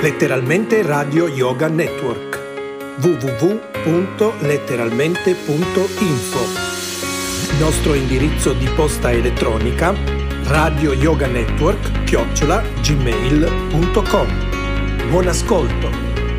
Letteralmente Radio Yoga Network. www.letteralmente.info. Nostro indirizzo di posta elettronica radioyoganetwork@gmail.com. Buon ascolto.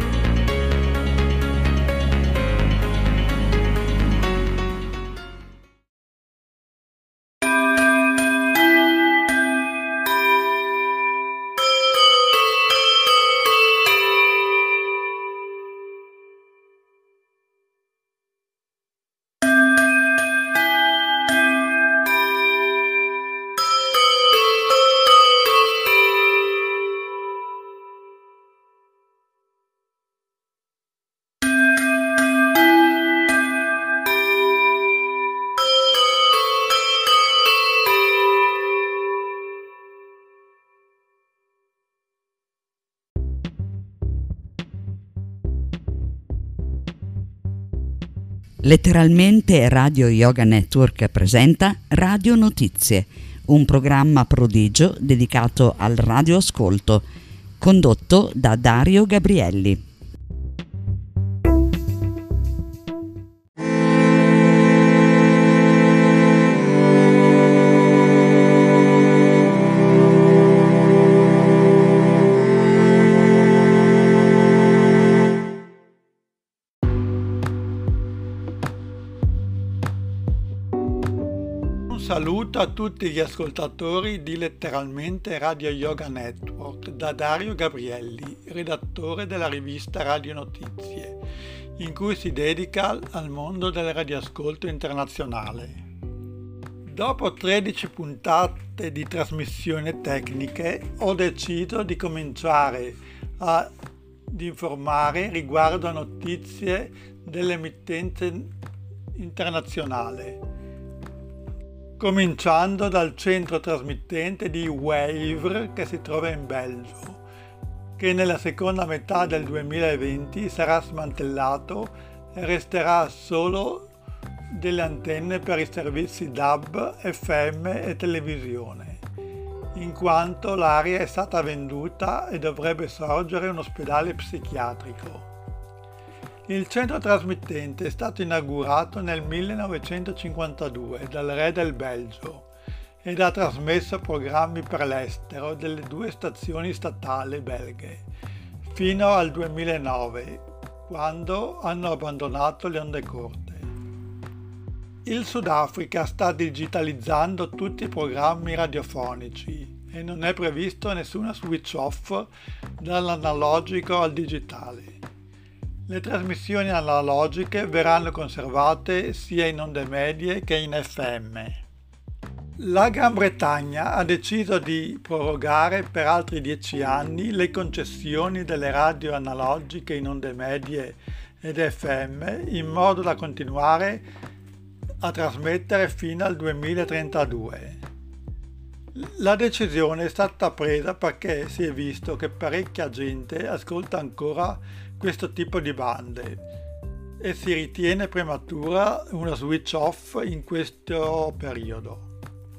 Letteralmente Radio Yoga Network presenta Radio Notizie, un programma prodigio dedicato al radioascolto, condotto da Dario Gabrielli. Saluto a tutti gli ascoltatori di Letteralmente Radio Yoga Network da Dario Gabrielli, redattore della rivista Radio Notizie, in cui si dedica al mondo del radioascolto internazionale. Dopo 13 puntate di trasmissioni tecniche, ho deciso di cominciare ad informare riguardo a notizie dell'emittenza internazionale. Cominciando dal centro trasmittente di Wavre che si trova in Belgio, che nella seconda metà del 2020 sarà smantellato e resterà solo delle antenne per i servizi DAB, FM e televisione, in quanto l'area è stata venduta e dovrebbe sorgere un ospedale psichiatrico. Il centro trasmittente è stato inaugurato nel 1952 dal re del Belgio ed ha trasmesso programmi per l'estero delle due stazioni statali belghe fino al 2009, quando hanno abbandonato le onde corte. Il Sudafrica sta digitalizzando tutti i programmi radiofonici e non è previsto nessuna switch off dall'analogico al digitale. Le trasmissioni analogiche verranno conservate sia in onde medie che in FM. La Gran Bretagna ha deciso di prorogare per altri 10 anni le concessioni delle radio analogiche in onde medie ed FM in modo da continuare a trasmettere fino al 2032. La decisione è stata presa perché si è visto che parecchia gente ascolta ancora questo tipo di bande e si ritiene prematura una switch off in questo periodo.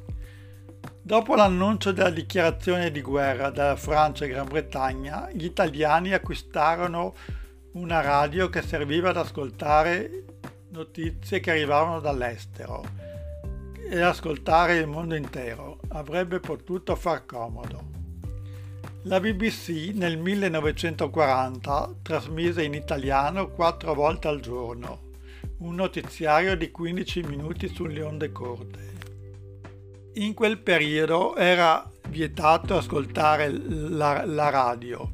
Dopo l'annuncio della dichiarazione di guerra dalla Francia e Gran Bretagna, gli italiani acquistarono una radio che serviva ad ascoltare notizie che arrivavano dall'estero e ascoltare il mondo intero. Avrebbe potuto far comodo. La BBC nel 1940 trasmise in italiano 4 volte al giorno, un notiziario di 15 minuti sulle onde corte. In quel periodo era vietato ascoltare la radio,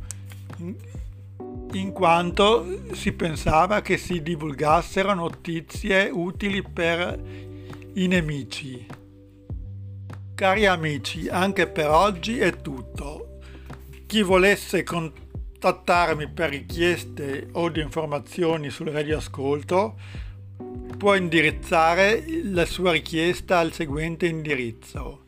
in quanto si pensava che si divulgassero notizie utili per i nemici. Cari amici, anche per oggi è tutto. Chi volesse contattarmi per richieste o di informazioni sul radioascolto può indirizzare la sua richiesta al seguente indirizzo: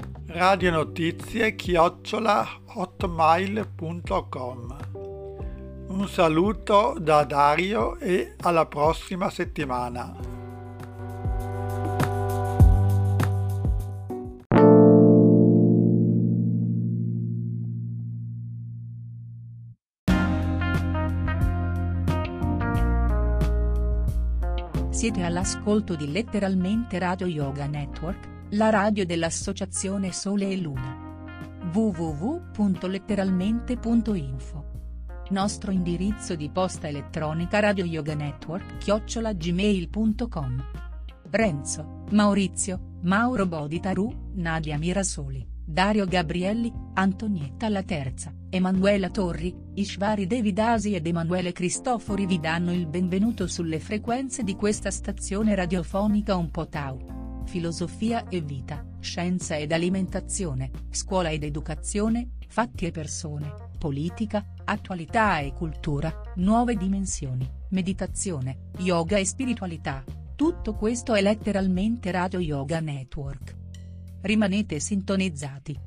radionotizie@hotmail.com. Un saluto da Dario e alla prossima settimana. Siete all'ascolto di Letteralmente Radio Yoga Network, la radio dell'Associazione Sole e Luna. www.letteralmente.info. Nostro indirizzo di posta elettronica radioyoganetwork@gmail.com. Renzo, Maurizio, Mauro Boditaru, Nadia Mirasoli, Dario Gabrielli, Antonietta La Terza, Emanuela Torri, Ishvari Devidasi ed Emanuele Cristofori vi danno il benvenuto sulle frequenze di questa stazione radiofonica un po' tau. Filosofia e vita, scienza ed alimentazione, scuola ed educazione, fatti e persone, politica, attualità e cultura, nuove dimensioni, meditazione, yoga e spiritualità. Tutto questo è letteralmente Radio Yoga Network. Rimanete sintonizzati.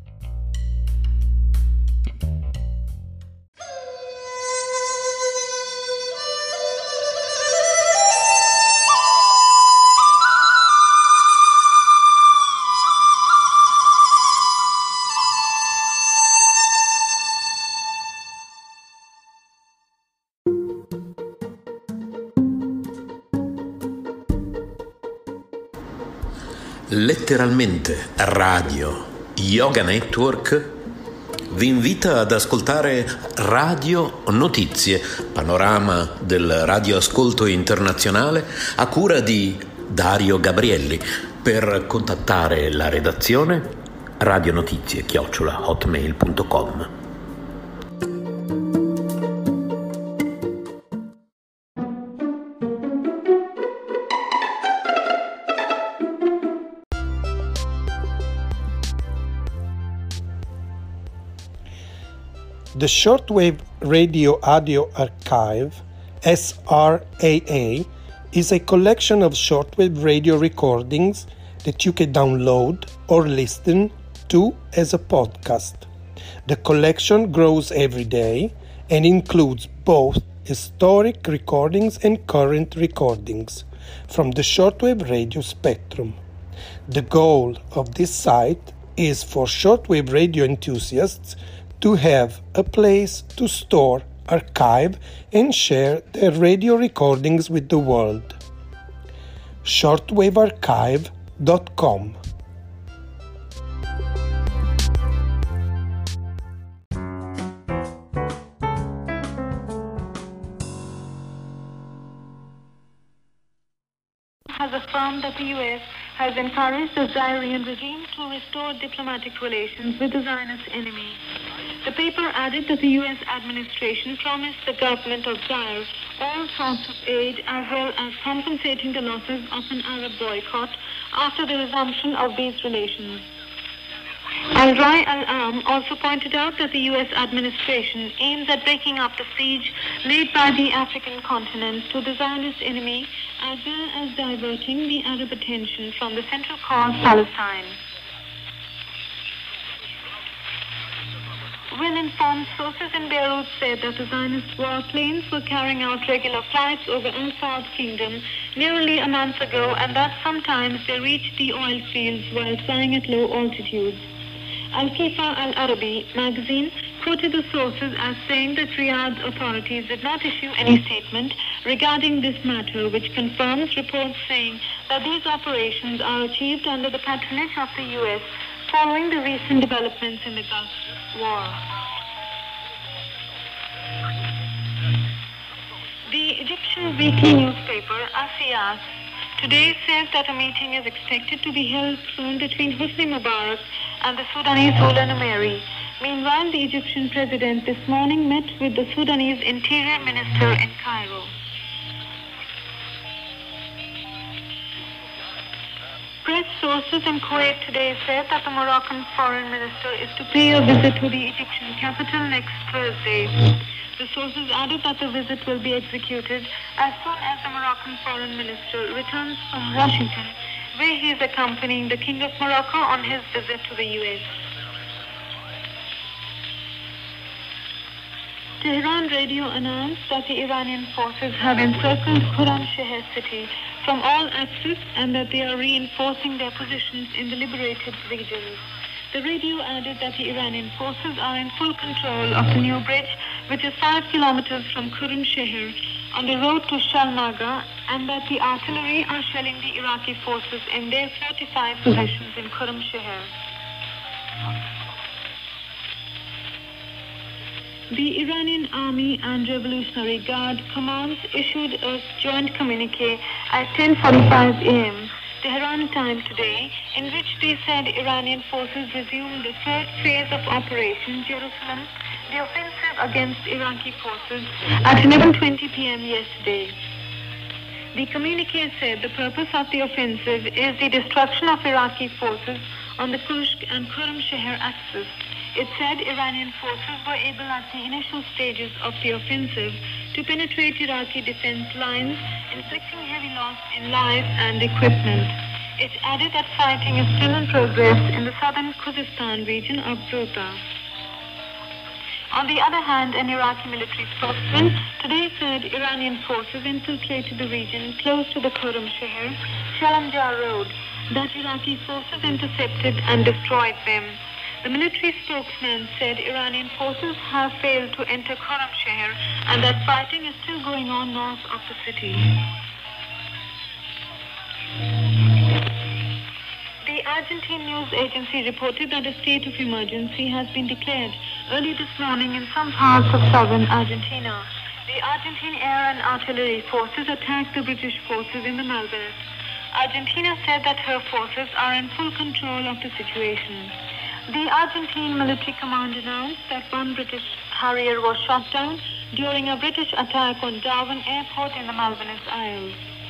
Letteralmente Radio Yoga Network vi invita ad ascoltare Radio Notizie, panorama del radioascolto internazionale a cura di Dario Gabrielli. Per contattare la redazione radionotizie@hotmail.com. The Shortwave Radio Audio Archive, SRAA, is a collection of shortwave radio recordings that you can download or listen to as a podcast. The collection grows every day and includes both historic recordings and current recordings from the shortwave radio spectrum. The goal of this site is for shortwave radio enthusiasts to have a place to store, archive, and share their radio recordings with the world. shortwavearchive.com. Has affirmed that the U.S. has encouraged the Zairian regime to restore diplomatic relations with the Zionist enemy. The paper added that the U.S. administration promised the government of Zaire all sorts of aid as well as compensating the losses of an Arab boycott after the resumption of these relations. Al-Rai Al-Am also pointed out that the U.S. administration aims at breaking up the siege laid by the African continent to the Zionist enemy as well as diverting the Arab attention from the central cause, Palestine. Well-informed sources in Beirut said that the Zionist warplanes were carrying out regular flights over Al-Saad Kingdom nearly a month ago, and that sometimes they reached the oil fields while flying at low altitudes. Al-Kifa Al-Arabi magazine quoted the sources as saying that Riyadh's authorities did not issue any statement regarding this matter, which confirms reports saying that these operations are achieved under the patronage of the U.S. following the recent developments in the Gulf War. The Egyptian weekly newspaper Asiyas today says that a meeting is expected to be held soon between Hosni Mubarak and the Sudanese ruler Numeri. Meanwhile, the Egyptian president this morning met with the Sudanese interior minister in Cairo. Press sources in Kuwait today said that the Moroccan foreign minister is to pay a visit to the Egyptian capital next Thursday. The sources added that the visit will be executed as soon as the Moroccan foreign minister returns from Washington, where he is accompanying the King of Morocco on his visit to the U.S. Tehran radio announced that the Iranian forces have encircled Khorramshahr city from all axes and that they are reinforcing their positions in the liberated regions. The radio added that the Iranian forces are in full control of the new bridge, which is 5 kilometers from Khorramshahr, on the road to Shalnaga, and that the artillery are shelling the Iraqi forces in their fortified positions in Khurramshahr. The Iranian Army and Revolutionary Guard commands issued a joint communique at 10:45 a.m. Tehran time today, in which they said Iranian forces resumed the first phase of Operation Jerusalem, the offensive against Iraqi forces, at 11:20 p.m. yesterday. The communique said the purpose of the offensive is the destruction of Iraqi forces on the Kushk and Khurramshahr axis. It said Iranian forces were able at the initial stages of the offensive to penetrate Iraqi defense lines, inflicting heavy loss in lives and equipment. It added that fighting is still in progress in the southern Khuzestan region of Ghouta. On the other hand, an Iraqi military spokesman today said Iranian forces infiltrated the region close to the Khurramshahr, Shalamjar Road, that Iraqi forces intercepted and destroyed them. The military spokesman said Iranian forces have failed to enter Khurramshahr and that fighting is still going on north of the city. The Argentine news agency reported that a state of emergency has been declared early this morning in some parts of southern Argentina. The Argentine air and artillery forces attacked the British forces in the Malvinas. Argentina said that her forces are in full control of the situation. The Argentine military command announced that one British Harrier was shot down during a British attack on Darwin Airport in the Malvinas Isles.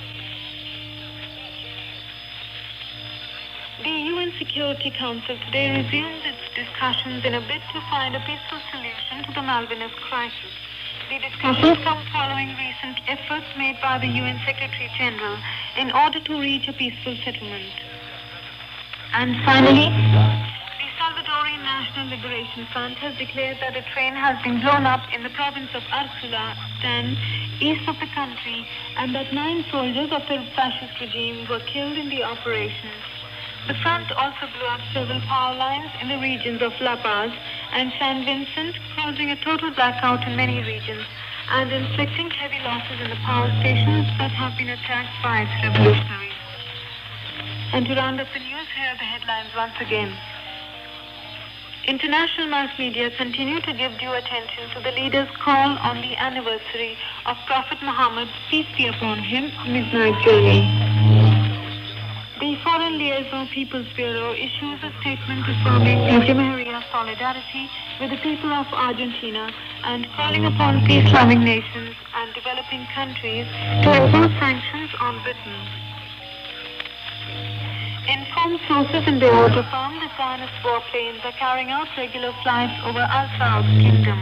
The UN Security Council today resumed its discussions in a bid to find a peaceful solution to the Malvinas crisis. The discussions come following recent efforts made by the UN Secretary General in order to reach a peaceful settlement. And finally, the Salvadorian National Liberation Front has declared that a train has been blown up in the province of Arzulastan, east of the country, and that 9 soldiers of the fascist regime were killed in the operation. The front also blew up several power lines in the regions of La Paz and San Vicente, causing a total blackout in many regions and inflicting heavy losses in the power stations that have been attacked by its revolutionaries. And to round up the news, here are the headlines once again. International mass media continue to give due attention to the leader's call on the anniversary of Prophet Muhammad's, peace be upon him, midnight journey. The Foreign Liaison People's Bureau issues a statement affirming the Jamahiriya solidarity with the people of Argentina and calling upon peace-loving nations and developing countries to impose sanctions on Britain. Informed sources in Beirut affirm the Zionist warplanes are carrying out regular flights over Al-Saud's kingdom.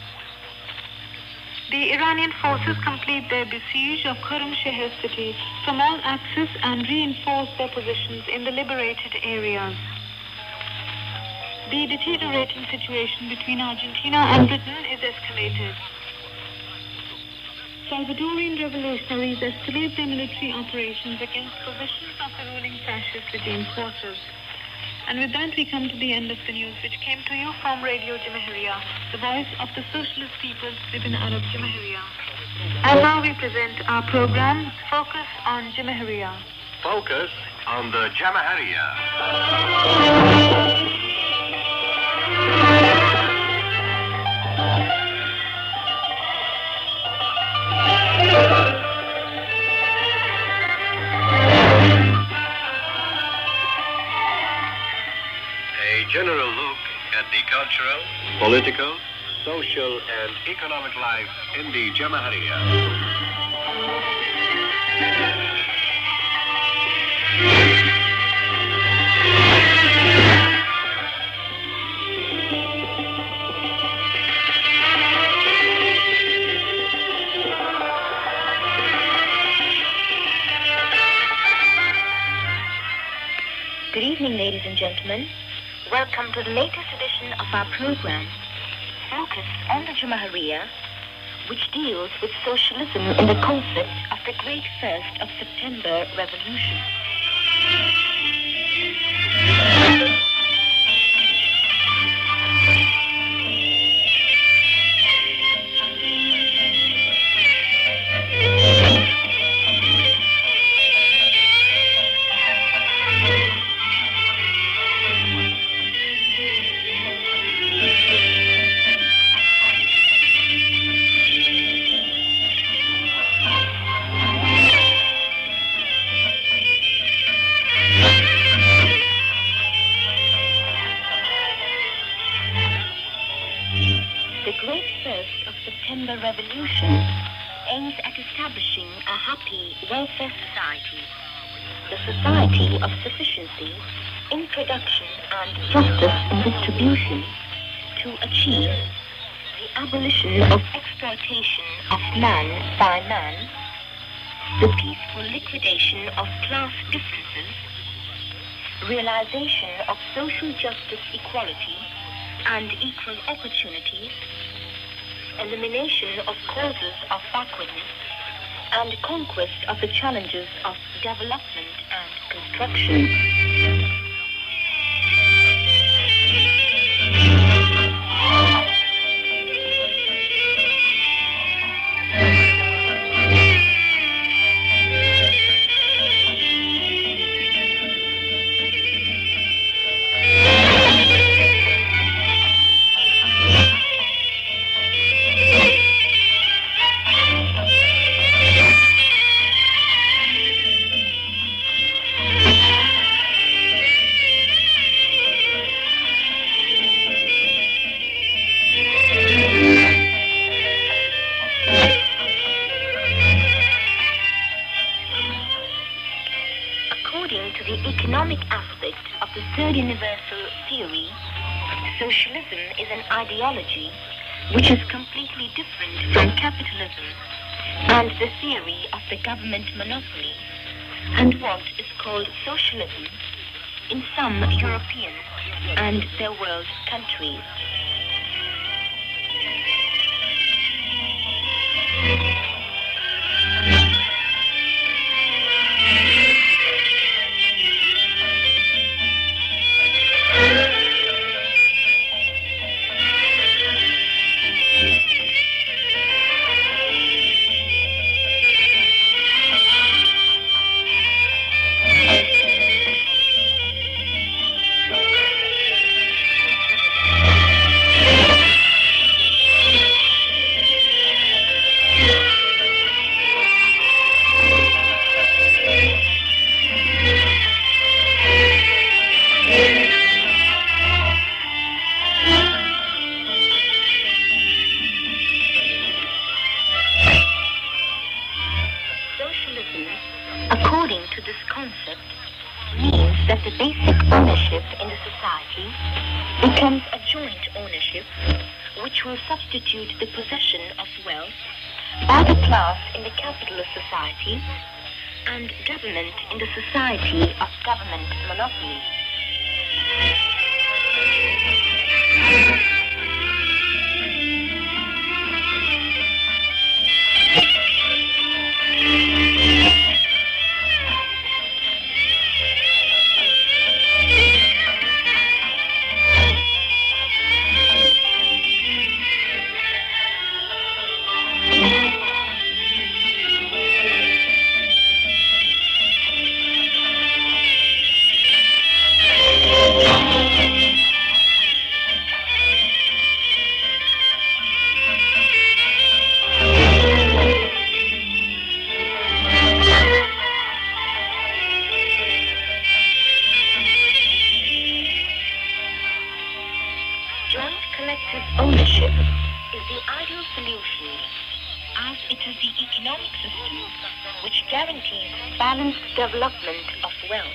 The Iranian forces complete their besiege of Khurramshahr city from all axes and reinforce their positions in the liberated areas. The deteriorating situation between Argentina and Britain is escalated. Salvadorian revolutionaries escalate their military operations against positions of the ruling fascist regime forces. And with that, we come to the end of the news, which came to you from Radio Jamahiriya, the voice of the socialist peoples within Arab Jamahiriya. And now we present our program, Focus on Jamahiriya. Focus on the Jamahiriya. General look at the cultural, political, social, and economic life in the Jamahiriya. Good evening, ladies and gentlemen. Welcome to the latest edition of our program, Focus on the Jamahiriya, which deals with socialism in the concept of the Great 1st of September Revolution. September Revolution aims at establishing a happy welfare society, the society of sufficiency in production and justice in distribution, to achieve the abolition of exploitation of man by man, the peaceful liquidation of class differences, realization of social justice, equality, and equal opportunities, elimination of causes of backwardness, and conquest of the challenges of development and construction. Ideology which is completely different from capitalism and the theory of the government monopoly, and what is called socialism in some European and their world countries. Substitute the possession of wealth by the class in the capitalist society and government in the society of government monopoly. Development of wealth.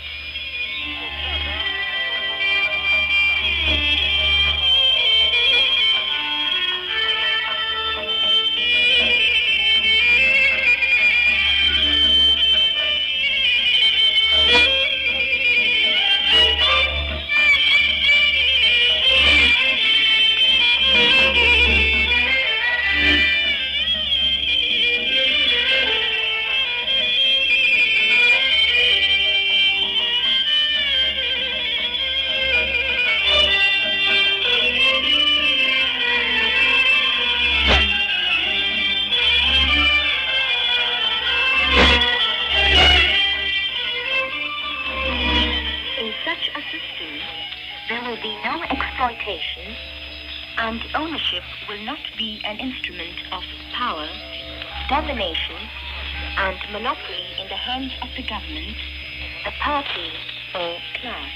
And ownership will not be an instrument of power, domination, and monopoly in the hands of the government, the party, or class.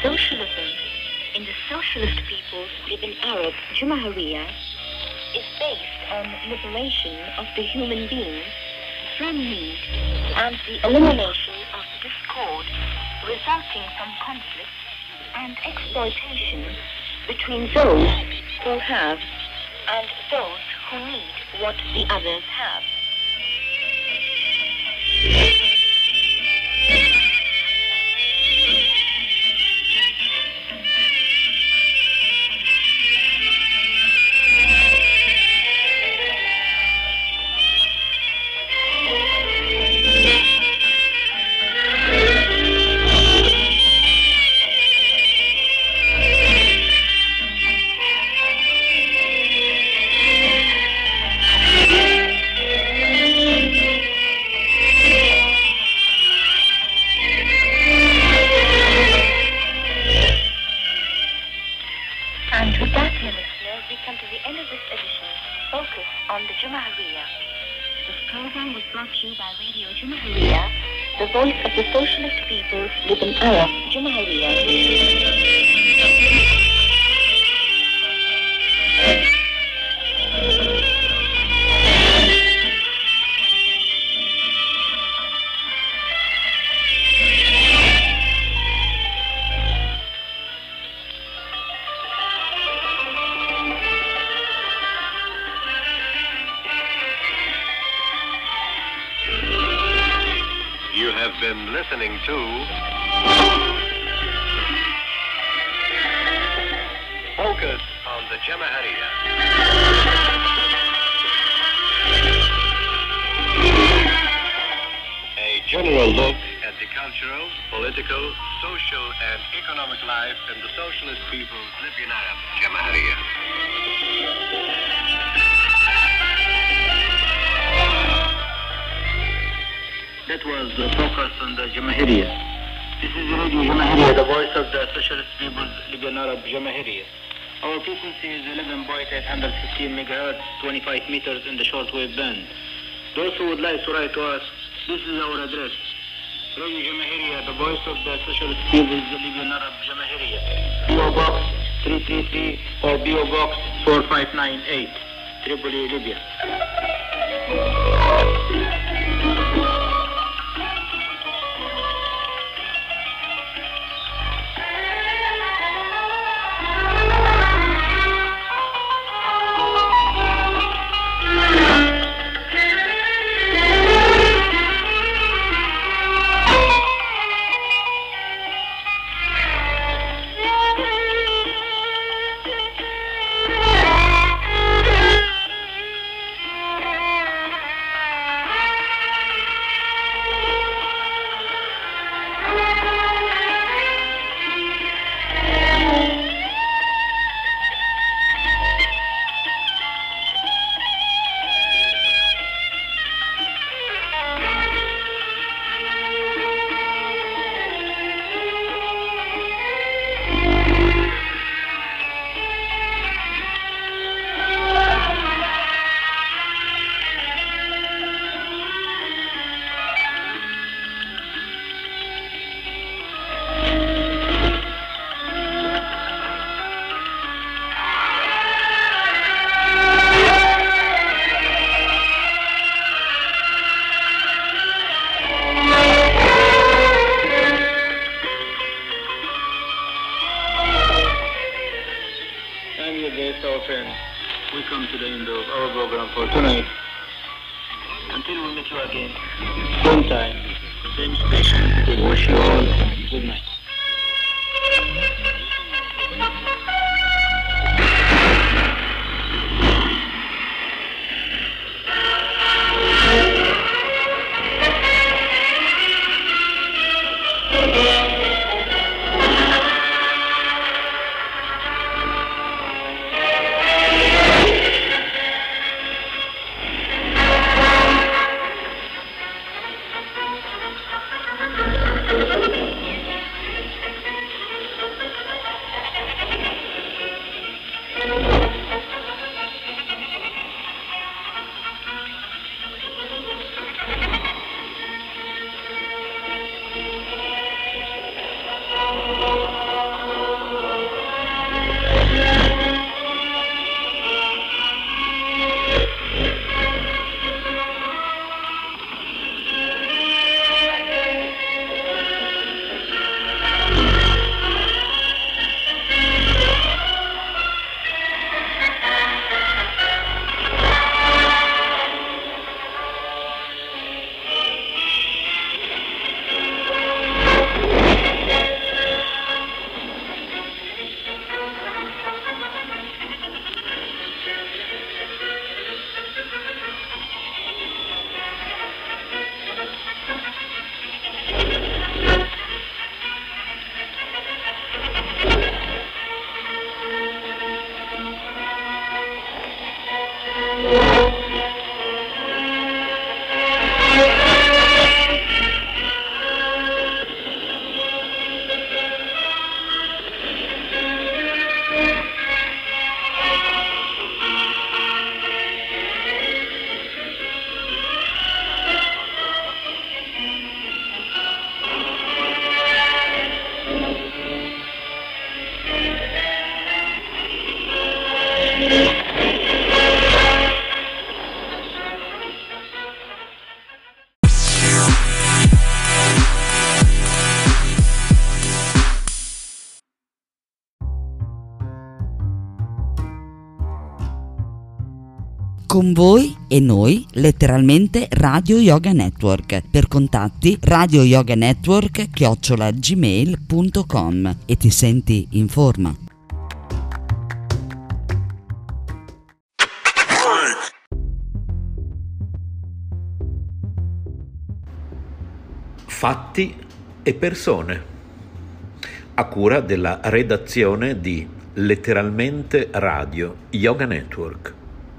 Socialism in the socialist peoples living Arab Jamahiriya is based on liberation of the human being from need and the elimination of discord resulting from conflict and exploitation between those who have and those who need what the others have. The voice of the socialist peoples live in Arab Jamahiriya. Been listening to Focus on the Jamahiriya. A general look at the cultural, political, social, and economic life in the socialist peoples living in Arab Jamahiriya. That was Focus on the Jamahiriya. This is Radio Jamahiriya, the voice of the socialist peoples Libyan Arab Jamahiriya. Our frequency is 11.815 megahertz, 25 meters in the shortwave band. Those who would like to write to us, this is our address. Radio Jamahiriya, the voice of the socialist peoples Libyan Arab Jamahiriya. PO Box 333 or PO Box 4598, Tripoli, Libya. We come to the end of our program for tonight. Until we meet you again, same time, same station, we wish you all good night. Con voi e noi, letteralmente Radio Yoga Network. Per contatti radioyoganetwork@gmail.com e ti senti in forma. Fatti e persone, a cura della redazione di Letteralmente Radio Yoga Network.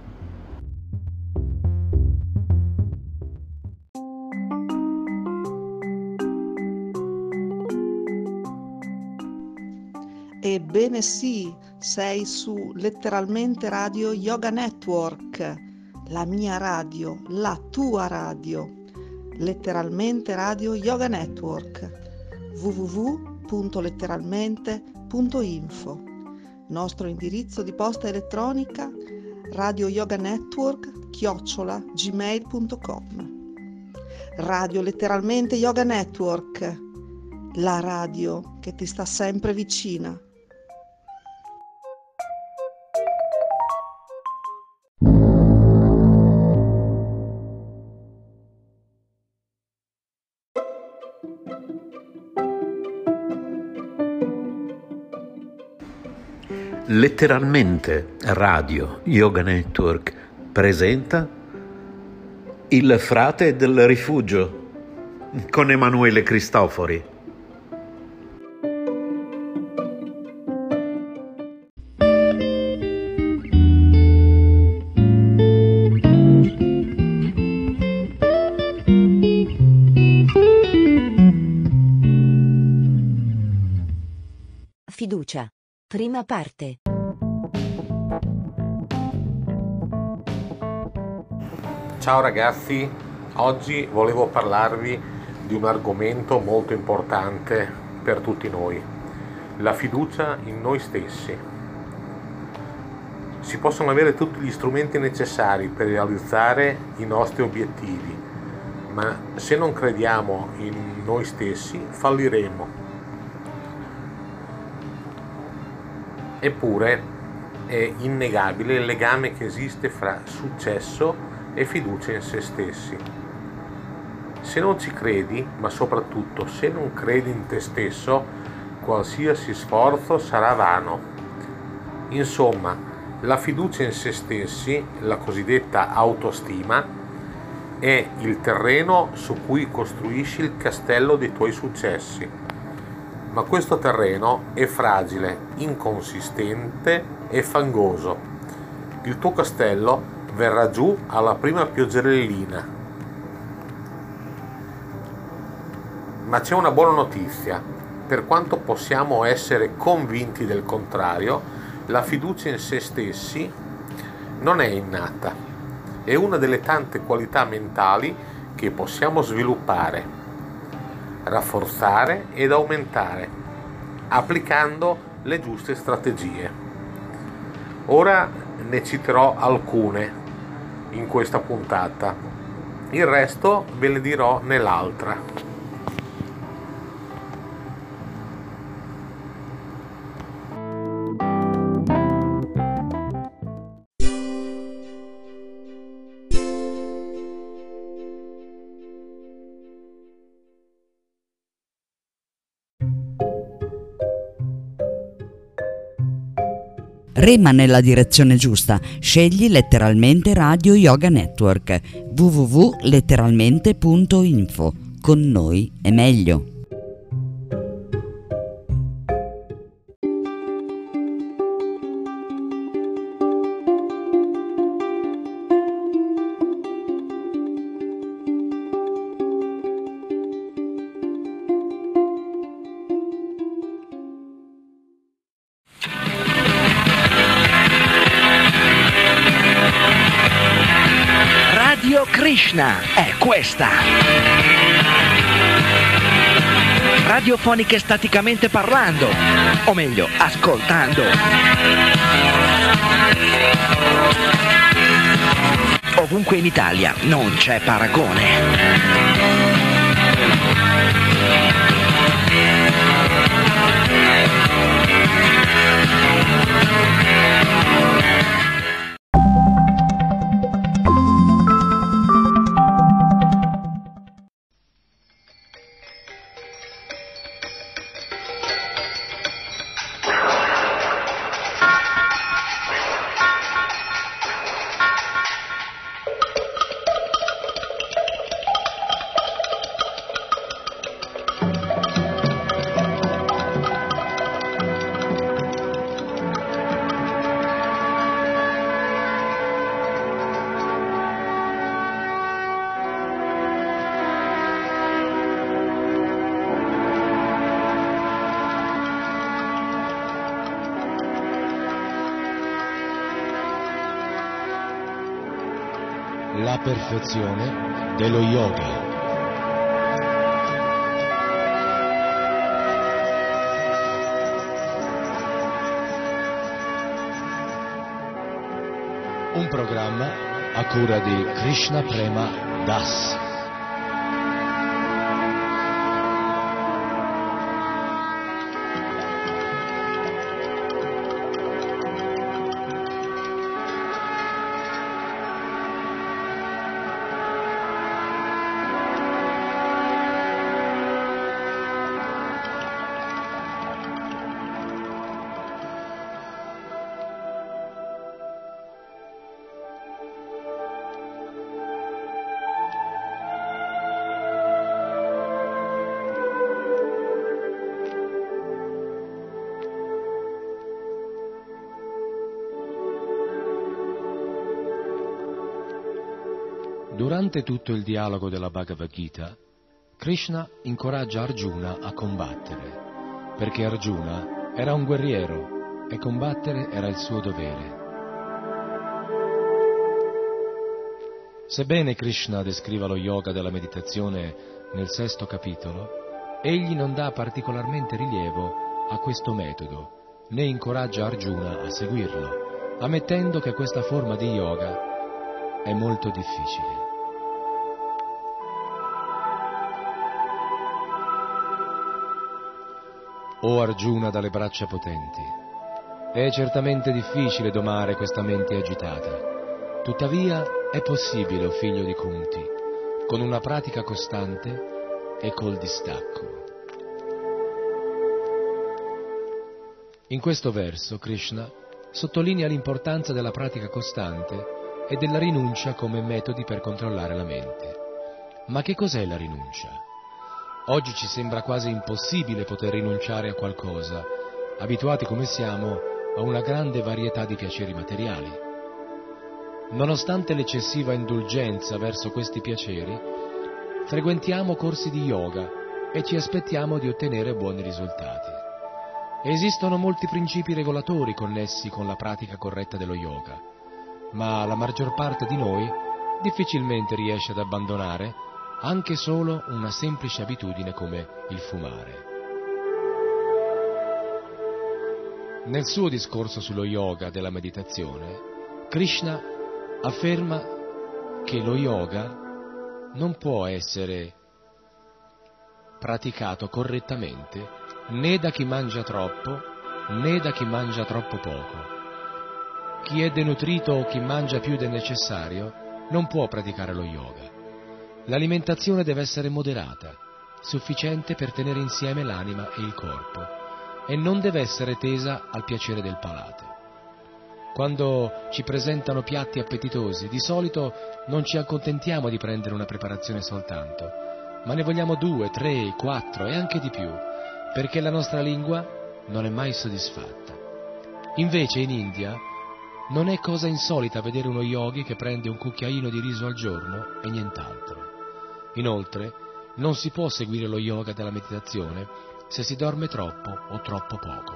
Ebbene sì, sei su Letteralmente Radio Yoga Network, la mia radio, la tua radio. Letteralmente Radio Yoga Network, www.letteralmente.info. Nostro indirizzo di posta elettronica radioyoganetwork@gmail.com. Radio Letteralmente Yoga Network, la radio che ti sta sempre vicina. Letteralmente Radio Yoga Network presenta Il frate del rifugio con Emanuele Cristofori. Fiducia. Prima parte. Ciao ragazzi, oggi volevo parlarvi di un argomento molto importante per tutti noi, la fiducia in noi stessi. Si possono avere tutti gli strumenti necessari per realizzare i nostri obiettivi, ma se non crediamo in noi stessi falliremo. Eppure è innegabile il legame che esiste fra successo e fiducia in se stessi. Se non ci credi, ma soprattutto se non credi in te stesso, qualsiasi sforzo sarà vano. Insomma, la fiducia in se stessi, la cosiddetta autostima, è il terreno su cui costruisci il castello dei tuoi successi. Ma questo terreno è fragile, inconsistente e fangoso. Il tuo castello verrà giù alla prima pioggerellina. Ma c'è una buona notizia. Per quanto possiamo essere convinti del contrario, la fiducia in se stessi non è innata. È una delle tante qualità mentali che possiamo sviluppare, rafforzare ed aumentare, applicando le giuste strategie. Ora ne citerò alcune in questa puntata, il resto ve le dirò nell'altra. Rema nella direzione giusta, scegli Letteralmente Radio Yoga Network, www.letteralmente.info. Con noi è meglio. Krishna è questa. Radiofoniche staticamente parlando, o meglio, ascoltando. Ovunque in Italia non c'è paragone. la perfezione dello yoga. Un programma a cura di Krishna Prema Das. Durante tutto il dialogo della Bhagavad Gita, Krishna incoraggia Arjuna a combattere, perché Arjuna era un guerriero e combattere era il suo dovere. Sebbene Krishna descriva lo yoga della meditazione nel 6° capitolo, egli non dà particolarmente rilievo a questo metodo, né incoraggia Arjuna a seguirlo, ammettendo che questa forma di yoga è molto difficile. O Arjuna dalle braccia potenti, è certamente difficile domare questa mente agitata. Tuttavia è possibile, o figlio di Kunti, con una pratica costante e col distacco. In questo verso Krishna sottolinea l'importanza della pratica costante e della rinuncia come metodi per controllare la mente. Ma che cos'è la rinuncia? Oggi ci sembra quasi impossibile poter rinunciare a qualcosa, abituati come siamo a una grande varietà di piaceri materiali. Nonostante l'eccessiva indulgenza verso questi piaceri, frequentiamo corsi di yoga e ci aspettiamo di ottenere buoni risultati. Esistono molti principi regolatori connessi con la pratica corretta dello yoga, ma la maggior parte di noi difficilmente riesce ad abbandonare anche solo una semplice abitudine come il fumare. Nel suo discorso sullo yoga della meditazione, Krishna afferma che lo yoga non può essere praticato correttamente né da chi mangia troppo né da chi mangia troppo poco. Chi è denutrito o chi mangia più del necessario non può praticare lo yoga. L'alimentazione deve essere moderata, sufficiente per tenere insieme l'anima e il corpo, e non deve essere tesa al piacere del palato. Quando ci presentano piatti appetitosi, di solito non ci accontentiamo di prendere una preparazione soltanto, ma ne vogliamo 2, 3, 4 e anche di più, perché la nostra lingua non è mai soddisfatta. Invece in India non è cosa insolita vedere uno yogi che prende un cucchiaino di riso al giorno e nient'altro. Inoltre, non si può seguire lo yoga della meditazione se si dorme troppo o troppo poco.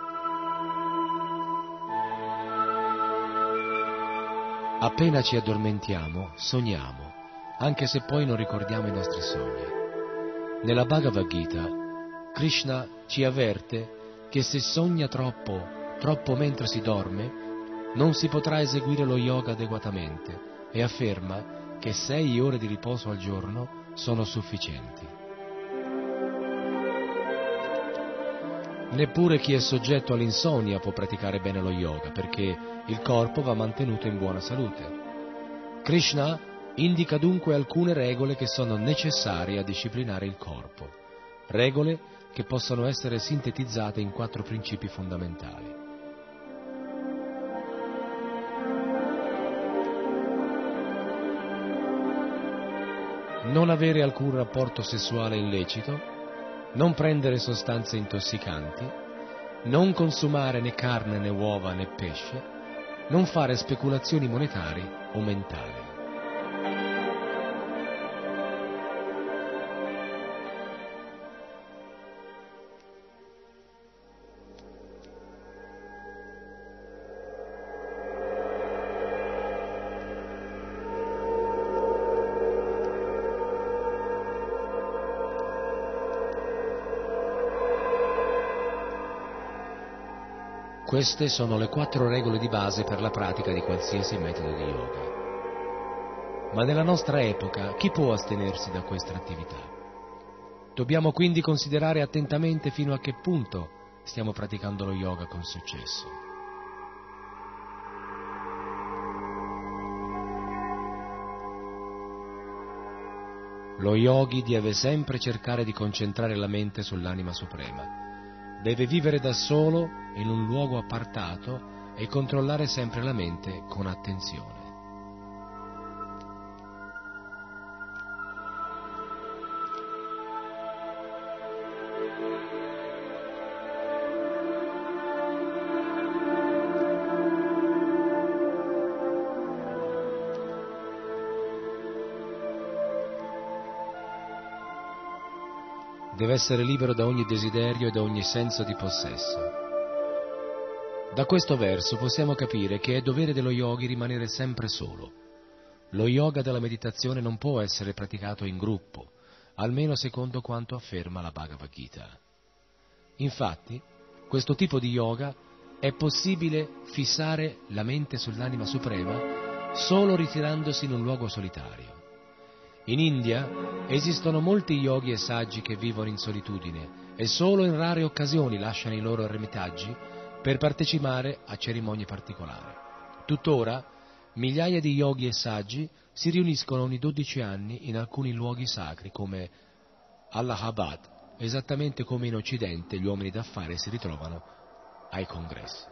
Appena ci addormentiamo, sogniamo, anche se poi non ricordiamo i nostri sogni. Nella Bhagavad Gita, Krishna ci avverte che se sogna troppo mentre si dorme, non si potrà eseguire lo yoga adeguatamente e afferma che 6 ore di riposo al giorno sono sufficienti. Neppure chi è soggetto all'insonnia può praticare bene lo yoga, perché il corpo va mantenuto in buona salute. Krishna indica dunque alcune regole che sono necessarie a disciplinare il corpo, regole che possono essere sintetizzate in 4 principi fondamentali. Non avere alcun rapporto sessuale illecito, non prendere sostanze intossicanti, non consumare né carne né uova né pesce, non fare speculazioni monetarie o mentali. Queste sono le 4 regole di base per la pratica di qualsiasi metodo di yoga. Ma nella nostra epoca chi può astenersi da questa attività? Dobbiamo quindi considerare attentamente fino a che punto stiamo praticando lo yoga con successo. Lo yogi deve sempre cercare di concentrare la mente sull'anima suprema. Deve vivere da solo in un luogo appartato e controllare sempre la mente con attenzione. Deve essere libero da ogni desiderio e da ogni senso di possesso. Da questo verso possiamo capire che è dovere dello yogi rimanere sempre solo. Lo yoga della meditazione non può essere praticato in gruppo, almeno secondo quanto afferma la Bhagavad Gita. Infatti, questo tipo di yoga è possibile fissare la mente sull'anima suprema solo ritirandosi in un luogo solitario. In India esistono molti yogi e saggi che vivono in solitudine e solo in rare occasioni lasciano i loro ermitaggi per partecipare a cerimonie particolari. Tuttora, migliaia di yogi e saggi si riuniscono ogni 12 anni in alcuni luoghi sacri come Allahabad, esattamente come in Occidente gli uomini d'affari si ritrovano ai congressi.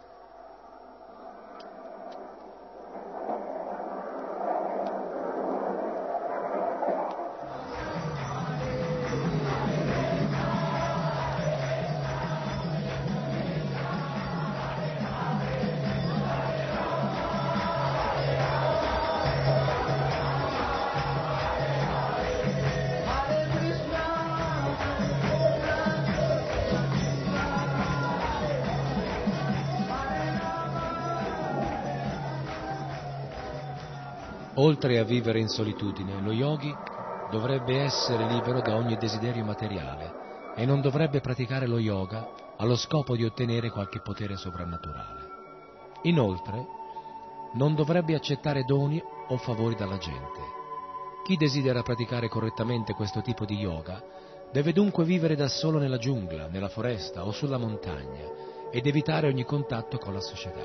Oltre a vivere in solitudine, lo yogi dovrebbe essere libero da ogni desiderio materiale e non dovrebbe praticare lo yoga allo scopo di ottenere qualche potere sovrannaturale. Inoltre, non dovrebbe accettare doni o favori dalla gente. Chi desidera praticare correttamente questo tipo di yoga deve dunque vivere da solo nella giungla, nella foresta o sulla montagna ed evitare ogni contatto con la società.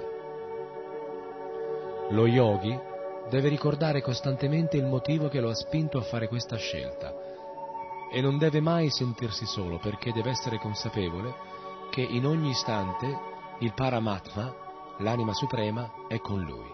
Lo yogi deve ricordare costantemente il motivo che lo ha spinto a fare questa scelta e non deve mai sentirsi solo, perché deve essere consapevole che in ogni istante il Paramatma, l'anima suprema, è con lui.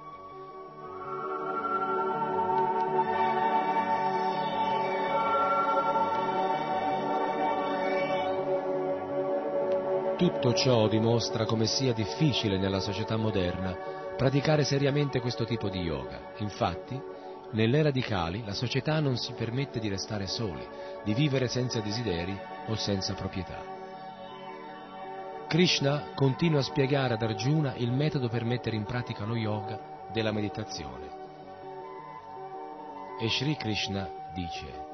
Tutto ciò dimostra come sia difficile nella società moderna praticare seriamente questo tipo di yoga. Infatti, nell'era di Kali la società non si permette di restare soli, di vivere senza desideri o senza proprietà. Krishna continua a spiegare ad Arjuna il metodo per mettere in pratica lo yoga della meditazione. E Sri Krishna dice: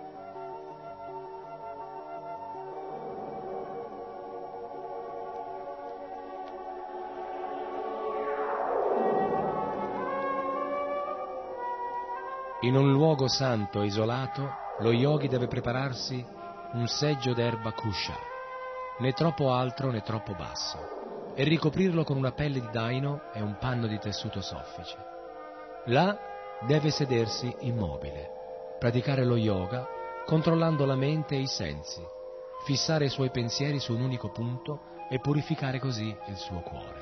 in un luogo santo e isolato, lo yogi deve prepararsi un seggio d'erba kusha, né troppo alto né troppo basso, e ricoprirlo con una pelle di daino e un panno di tessuto soffice. Là deve sedersi immobile, praticare lo yoga controllando la mente e i sensi, fissare i suoi pensieri su un unico punto e purificare così il suo cuore.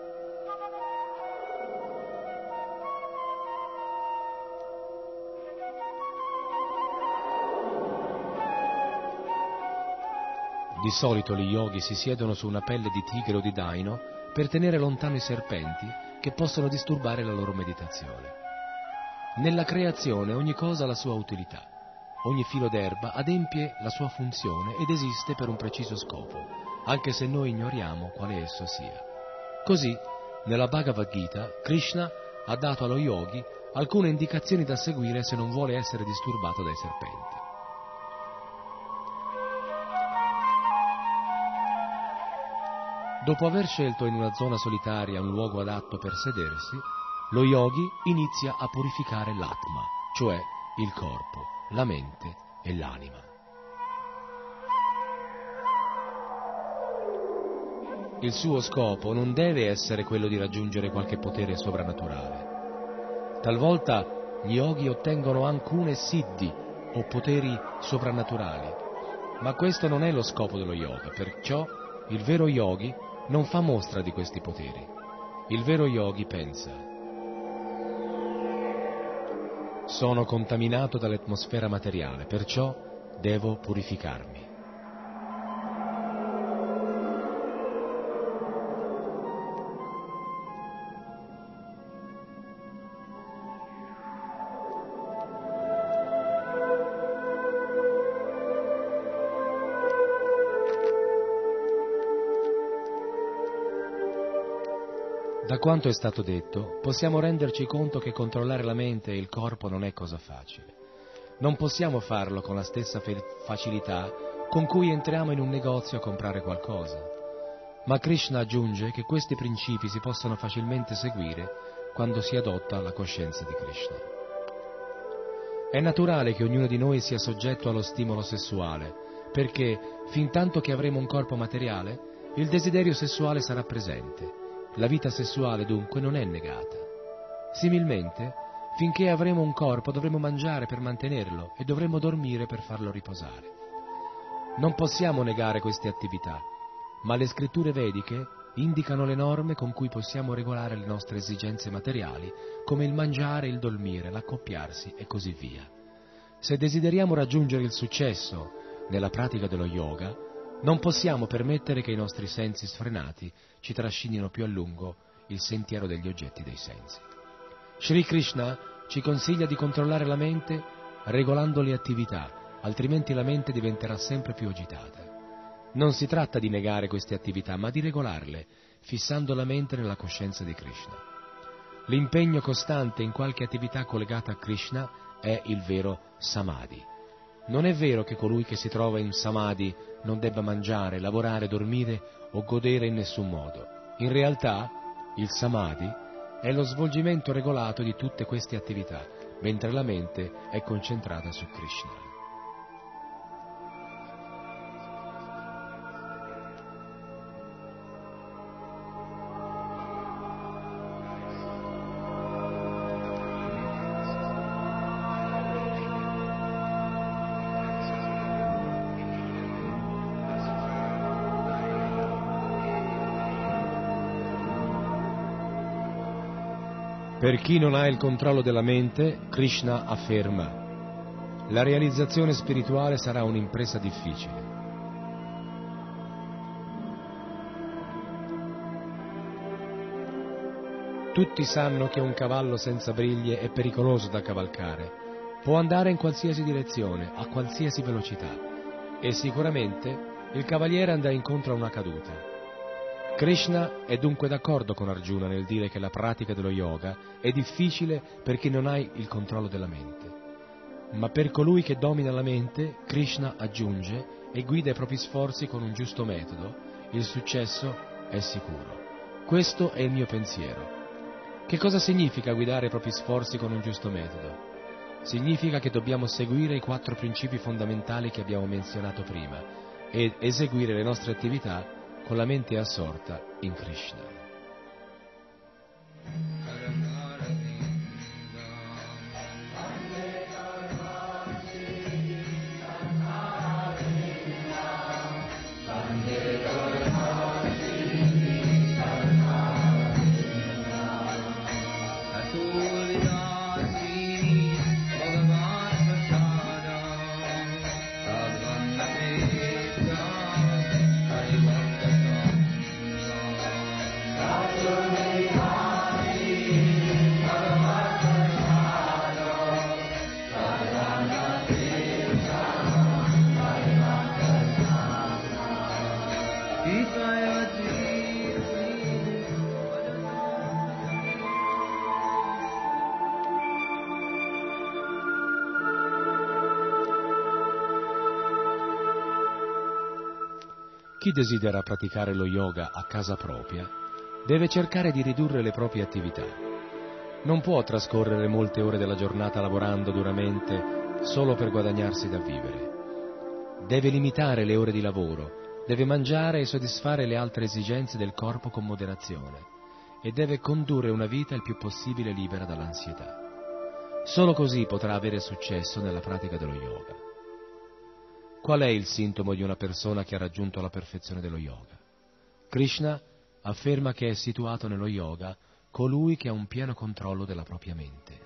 Di solito gli yogi si siedono su una pelle di tigre o di daino per tenere lontano i serpenti che possono disturbare la loro meditazione. Nella creazione ogni cosa ha la sua utilità. Ogni filo d'erba adempie la sua funzione ed esiste per un preciso scopo, anche se noi ignoriamo quale esso sia. Così, nella Bhagavad Gita, Krishna ha dato allo yogi alcune indicazioni da seguire se non vuole essere disturbato dai serpenti. Dopo aver scelto in una zona solitaria un luogo adatto per sedersi, lo yogi inizia a purificare l'atma, cioè il corpo, la mente e l'anima. Il suo scopo non deve essere quello di raggiungere qualche potere sovrannaturale. Talvolta gli yogi ottengono alcune siddhi o poteri soprannaturali, ma questo non è lo scopo dello yoga, perciò il vero yogi non fa mostra di questi poteri. Il vero yogi pensa: sono contaminato dall'atmosfera materiale, perciò devo purificarmi. Da quanto è stato detto, possiamo renderci conto che controllare la mente e il corpo non è cosa facile. Non possiamo farlo con la stessa facilità con cui entriamo in un negozio a comprare qualcosa. Ma Krishna aggiunge che questi principi si possono facilmente seguire quando si adotta la coscienza di Krishna. È naturale che ognuno di noi sia soggetto allo stimolo sessuale, perché, fintanto che avremo un corpo materiale, il desiderio sessuale sarà presente. La vita sessuale dunque non è negata. Similmente, finché avremo un corpo dovremo mangiare per mantenerlo e dovremo dormire per farlo riposare. Non possiamo negare queste attività, ma le scritture vediche indicano le norme con cui possiamo regolare le nostre esigenze materiali, come il mangiare, il dormire, l'accoppiarsi e così via. Se desideriamo raggiungere il successo nella pratica dello yoga, non possiamo permettere che i nostri sensi sfrenati ci trascinino più a lungo il sentiero degli oggetti dei sensi. Sri Krishna ci consiglia di controllare la mente regolando le attività, altrimenti la mente diventerà sempre più agitata. Non si tratta di negare queste attività, ma di regolarle, fissando la mente nella coscienza di Krishna. L'impegno costante in qualche attività collegata a Krishna è il vero samadhi. Non è vero che colui che si trova in samadhi non debba mangiare, lavorare, dormire o godere in nessun modo. In realtà, il samadhi è lo svolgimento regolato di tutte queste attività, mentre la mente è concentrata su Krishna. Per chi non ha il controllo della mente, Krishna afferma: la realizzazione spirituale sarà un'impresa difficile. Tutti sanno che un cavallo senza briglie è pericoloso da cavalcare. Può andare in qualsiasi direzione, a qualsiasi velocità, e sicuramente il cavaliere andrà incontro a una caduta. Krishna è dunque d'accordo con Arjuna nel dire che la pratica dello yoga è difficile per chi non ha il controllo della mente. Ma per colui che domina la mente, Krishna aggiunge, e guida i propri sforzi con un giusto metodo, il successo è sicuro. Questo è il mio pensiero. Che cosa significa guidare i propri sforzi con un giusto metodo? Significa che dobbiamo seguire i 4 principi fondamentali che abbiamo menzionato prima ed eseguire le nostre attività con la mente assorta in Krishna. chi desidera praticare lo yoga a casa propria deve cercare di ridurre le proprie attività. Non può trascorrere molte ore della giornata lavorando duramente solo per guadagnarsi da vivere. Deve limitare le ore di lavoro, deve mangiare e soddisfare le altre esigenze del corpo con moderazione e deve condurre una vita il più possibile libera dall'ansietà. Solo così potrà avere successo nella pratica dello yoga. Qual è il sintomo di una persona che ha raggiunto la perfezione dello yoga? Krishna afferma che è situato nello yoga colui che ha un pieno controllo della propria mente.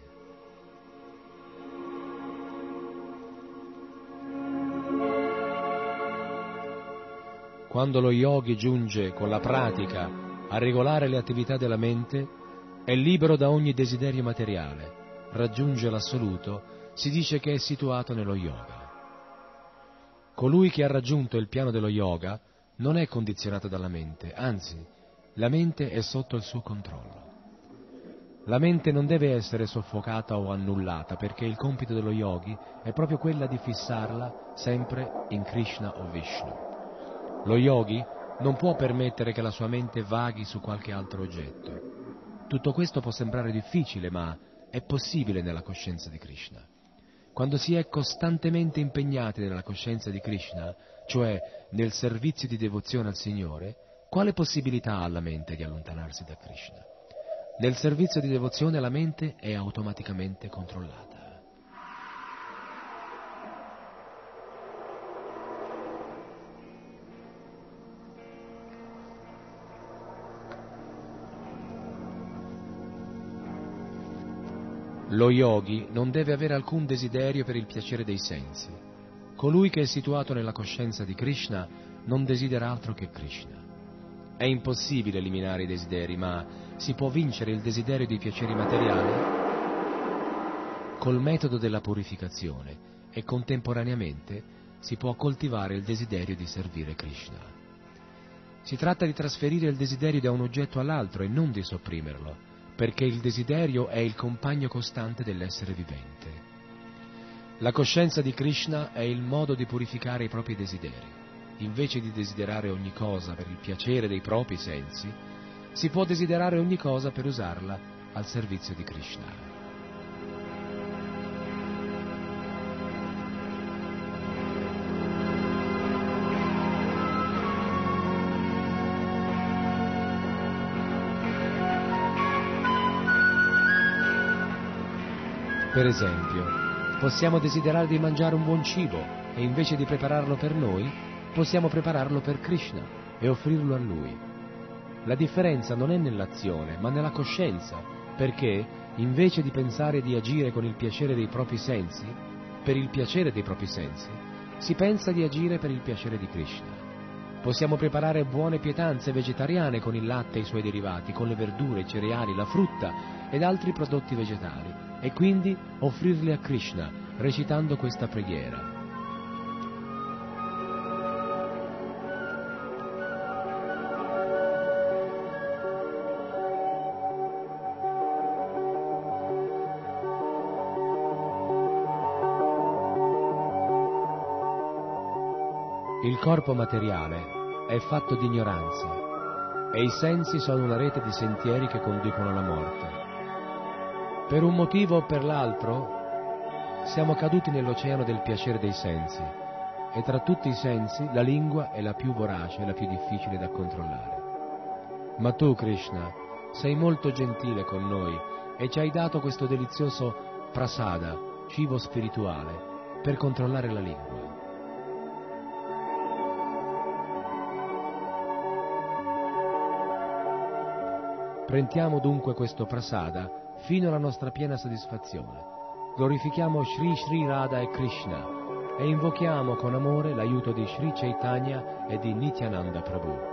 Quando lo yogi giunge con la pratica a regolare le attività della mente, è libero da ogni desiderio materiale, raggiunge l'assoluto, si dice che è situato nello yoga. Colui che ha raggiunto il piano dello yoga non è condizionato dalla mente, anzi, la mente è sotto il suo controllo. La mente non deve essere soffocata o annullata, perché il compito dello yogi è proprio quella di fissarla sempre in Krishna o Vishnu. Lo yogi non può permettere che la sua mente vaghi su qualche altro oggetto. Tutto questo può sembrare difficile, ma è possibile nella coscienza di Krishna. Quando si è costantemente impegnati nella coscienza di Krishna, cioè nel servizio di devozione al Signore, quale possibilità ha la mente di allontanarsi da Krishna? Nel servizio di devozione la mente è automaticamente controllata. Lo yogi non deve avere alcun desiderio per il piacere dei sensi. Colui che è situato nella coscienza di Krishna non desidera altro che Krishna. È impossibile eliminare i desideri, ma si può vincere il desiderio di piaceri materiali col metodo della purificazione e contemporaneamente si può coltivare il desiderio di servire Krishna. Si tratta di trasferire il desiderio da un oggetto all'altro e non di sopprimerlo, perché il desiderio è il compagno costante dell'essere vivente. La coscienza di Krishna è il modo di purificare i propri desideri. Invece di desiderare ogni cosa per il piacere dei propri sensi, si può desiderare ogni cosa per usarla al servizio di Krishna. Per esempio, possiamo desiderare di mangiare un buon cibo e invece di prepararlo per noi, possiamo prepararlo per Krishna e offrirlo a Lui. La differenza non è nell'azione, ma nella coscienza, perché invece di pensare di agire con il piacere dei propri sensi, per il piacere dei propri sensi, si pensa di agire per il piacere di Krishna. Possiamo preparare buone pietanze vegetariane con il latte e i suoi derivati, con le verdure, i cereali, la frutta ed altri prodotti vegetali, e quindi offrirli a Krishna, recitando questa preghiera. Il corpo materiale è fatto di ignoranza e i sensi sono una rete di sentieri che conducono alla morte. Per un motivo o per l'altro siamo caduti nell'oceano del piacere dei sensi e tra tutti i sensi la lingua è la più vorace e la più difficile da controllare. Ma tu, Krishna, sei molto gentile con noi e ci hai dato questo delizioso prasada, cibo spirituale, per controllare la lingua. Prendiamo dunque questo prasada fino alla nostra piena soddisfazione. Glorifichiamo Shri Shri Radha e Krishna e invochiamo con amore l'aiuto di Shri Chaitanya e di Nityananda Prabhu.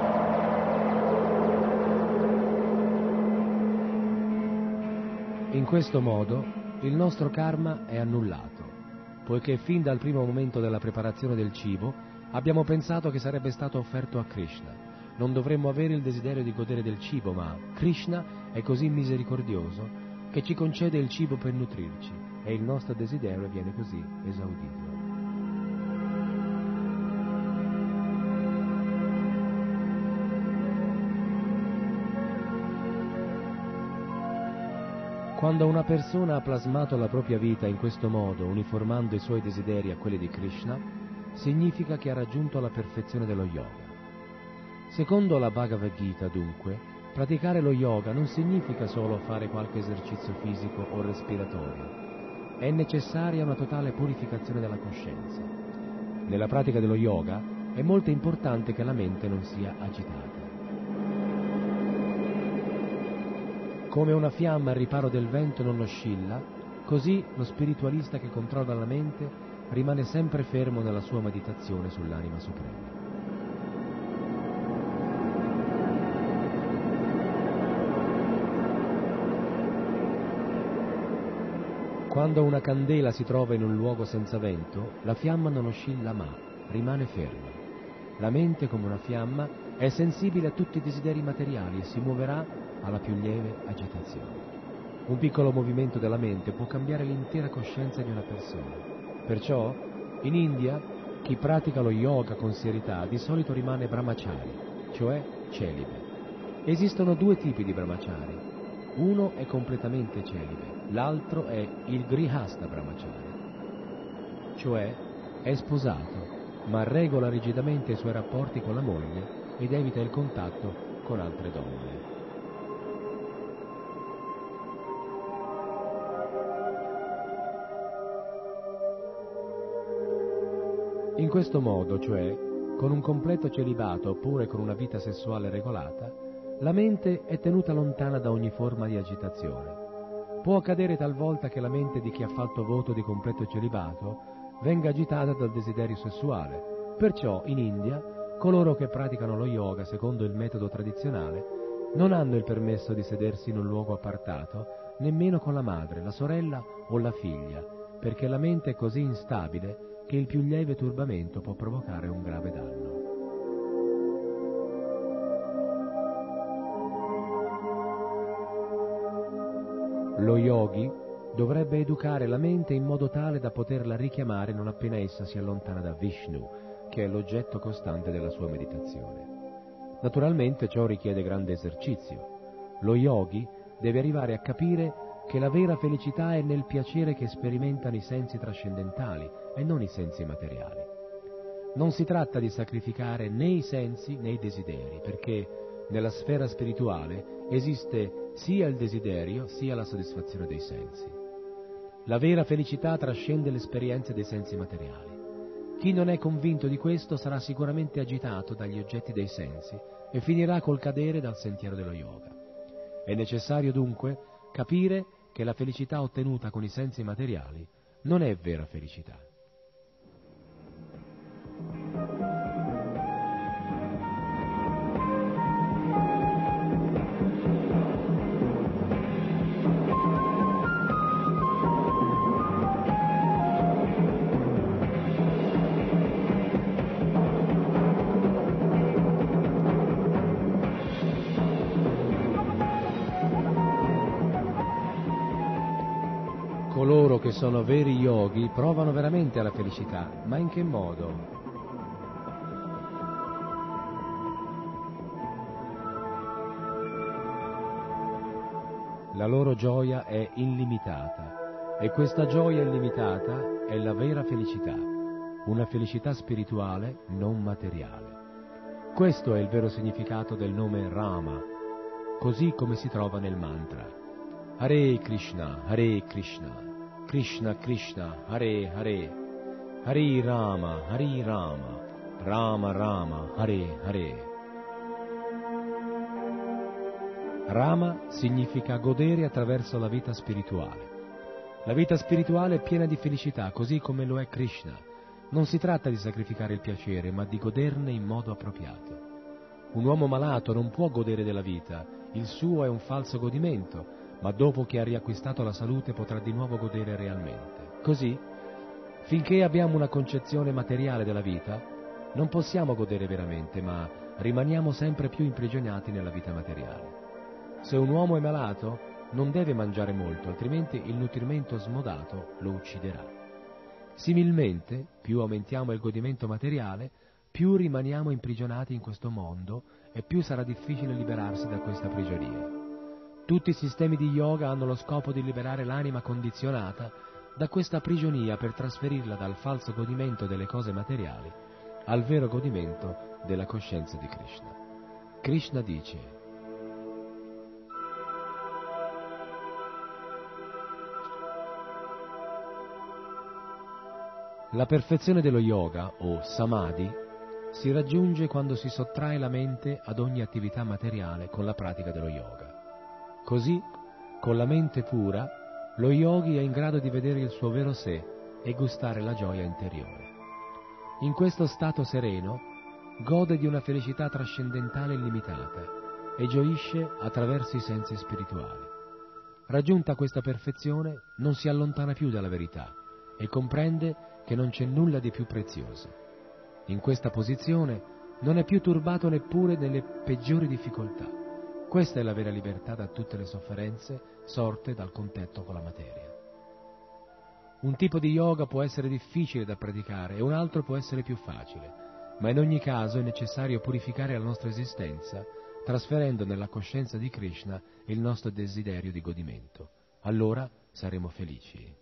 In questo modo il nostro karma è annullato, poiché fin dal primo momento della preparazione del cibo abbiamo pensato che sarebbe stato offerto a Krishna. Non dovremmo avere il desiderio di godere del cibo, ma Krishna è così misericordioso che ci concede il cibo per nutrirci e il nostro desiderio viene così esaudito. Quando una persona ha plasmato la propria vita in questo modo, uniformando i suoi desideri a quelli di Krishna, significa che ha raggiunto la perfezione dello yoga. Secondo la Bhagavad Gita, dunque, praticare lo yoga non significa solo fare qualche esercizio fisico o respiratorio. È necessaria una totale purificazione della coscienza. Nella pratica dello yoga è molto importante che la mente non sia agitata. Come una fiamma al riparo del vento non oscilla, così lo spiritualista che controlla la mente rimane sempre fermo nella sua meditazione sull'anima suprema. Quando una candela si trova in un luogo senza vento, la fiamma non oscilla ma rimane ferma. La mente, come una fiamma, è sensibile a tutti i desideri materiali e si muoverà alla più lieve agitazione. Un piccolo movimento della mente può cambiare l'intera coscienza di una persona. Perciò, in India, chi pratica lo yoga con serietà di solito rimane brahmachari, cioè celibe. Esistono due tipi di brahmachari. Uno è completamente celibe, l'altro è il grihasta brahmachari, cioè è sposato, ma regola rigidamente i suoi rapporti con la moglie ed evita il contatto con altre donne. In questo modo, cioè, con un completo celibato oppure con una vita sessuale regolata, la mente è tenuta lontana da ogni forma di agitazione. Può accadere talvolta che la mente di chi ha fatto voto di completo celibato venga agitata dal desiderio sessuale. Perciò in India coloro che praticano lo yoga secondo il metodo tradizionale non hanno il permesso di sedersi in un luogo appartato nemmeno con la madre, la sorella o la figlia, perché la mente è così instabile che il più lieve turbamento può provocare un grave danno. Lo yogi dovrebbe educare la mente in modo tale da poterla richiamare non appena essa si allontana da Vishnu, che è l'oggetto costante della sua meditazione. Naturalmente ciò richiede grande esercizio. Lo yogi deve arrivare a capire che la vera felicità è nel piacere che sperimentano i sensi trascendentali e non i sensi materiali. Non si tratta di sacrificare né i sensi né i desideri, perché nella sfera spirituale esiste sia il desiderio sia la soddisfazione dei sensi. La vera felicità trascende le esperienze dei sensi materiali. Chi non è convinto di questo sarà sicuramente agitato dagli oggetti dei sensi e finirà col cadere dal sentiero dello yoga. È necessario dunque capire che la felicità ottenuta con i sensi materiali non è vera felicità. Coloro che sono veri yogi provano veramente alla felicità, ma in che modo? La loro gioia è illimitata e questa gioia illimitata è la vera felicità, una felicità spirituale non materiale. Questo è il vero significato del nome Rama, così come si trova nel mantra. Hare Krishna, Krishna Krishna, Hare Hare, Hare Rama, Rama Rama, Hare Hare. Rama significa godere attraverso la vita spirituale. La vita spirituale è piena di felicità, così come lo è Krishna. Non si tratta di sacrificare il piacere, ma di goderne in modo appropriato. Un uomo malato non può godere della vita, il suo è un falso godimento, ma dopo che ha riacquistato la salute potrà di nuovo godere realmente. Così, finché abbiamo una concezione materiale della vita, non possiamo godere veramente, ma rimaniamo sempre più imprigionati nella vita materiale. Se un uomo è malato, non deve mangiare molto, altrimenti il nutrimento smodato lo ucciderà. Similmente, più aumentiamo il godimento materiale, più rimaniamo imprigionati in questo mondo e più sarà difficile liberarsi da questa prigionia. Tutti i sistemi di yoga hanno lo scopo di liberare l'anima condizionata da questa prigionia per trasferirla dal falso godimento delle cose materiali al vero godimento della coscienza di Krishna. Krishna dice: la perfezione dello yoga, o samadhi, si raggiunge quando si sottrae la mente ad ogni attività materiale con la pratica dello yoga. Così, con la mente pura, lo yogi è in grado di vedere il suo vero sé e gustare la gioia interiore. In questo stato sereno, gode di una felicità trascendentale illimitata e gioisce attraverso i sensi spirituali. Raggiunta questa perfezione, non si allontana più dalla verità e comprende che non c'è nulla di più prezioso. In questa posizione non è più turbato neppure nelle peggiori difficoltà. Questa è la vera libertà da tutte le sofferenze sorte dal contatto con la materia. Un tipo di yoga può essere difficile da praticare e un altro può essere più facile, ma in ogni caso è necessario purificare la nostra esistenza, trasferendo nella coscienza di Krishna il nostro desiderio di godimento. Allora saremo felici.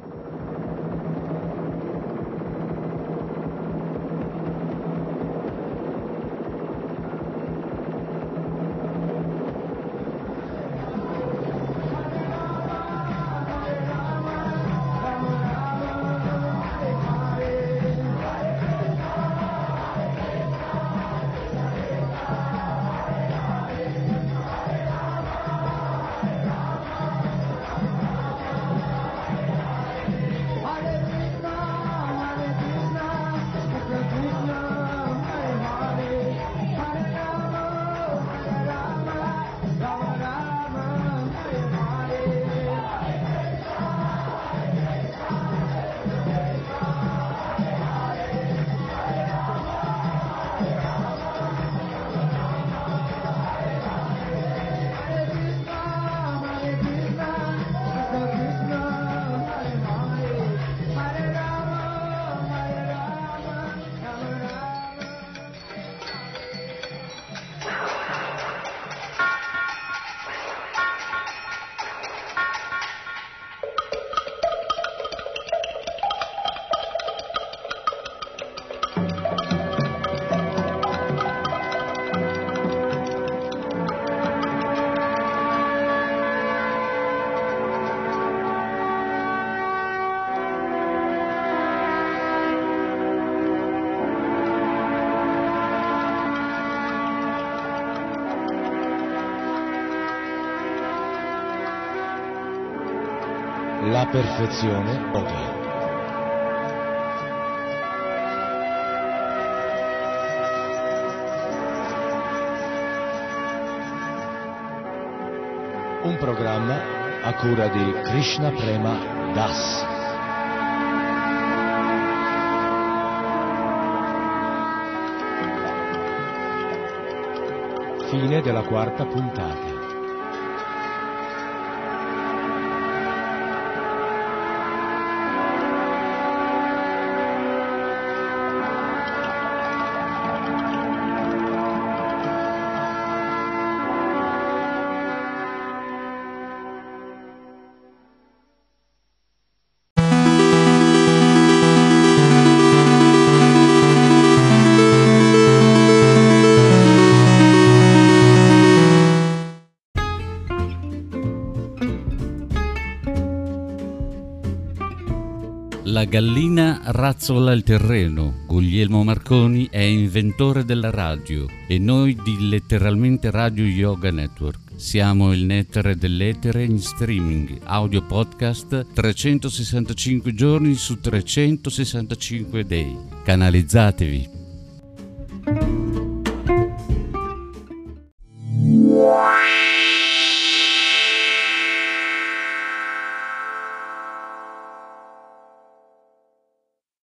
La perfezione yoga. Un programma a cura di Krishna Prema Das. Fine della quarta puntata. La gallina razzola il terreno. Guglielmo Marconi è inventore della radio e noi di Letteralmente Radio Yoga Network. Siamo il nettare dell'etere in streaming, audio podcast 365 giorni su 365 day. Canalizzatevi.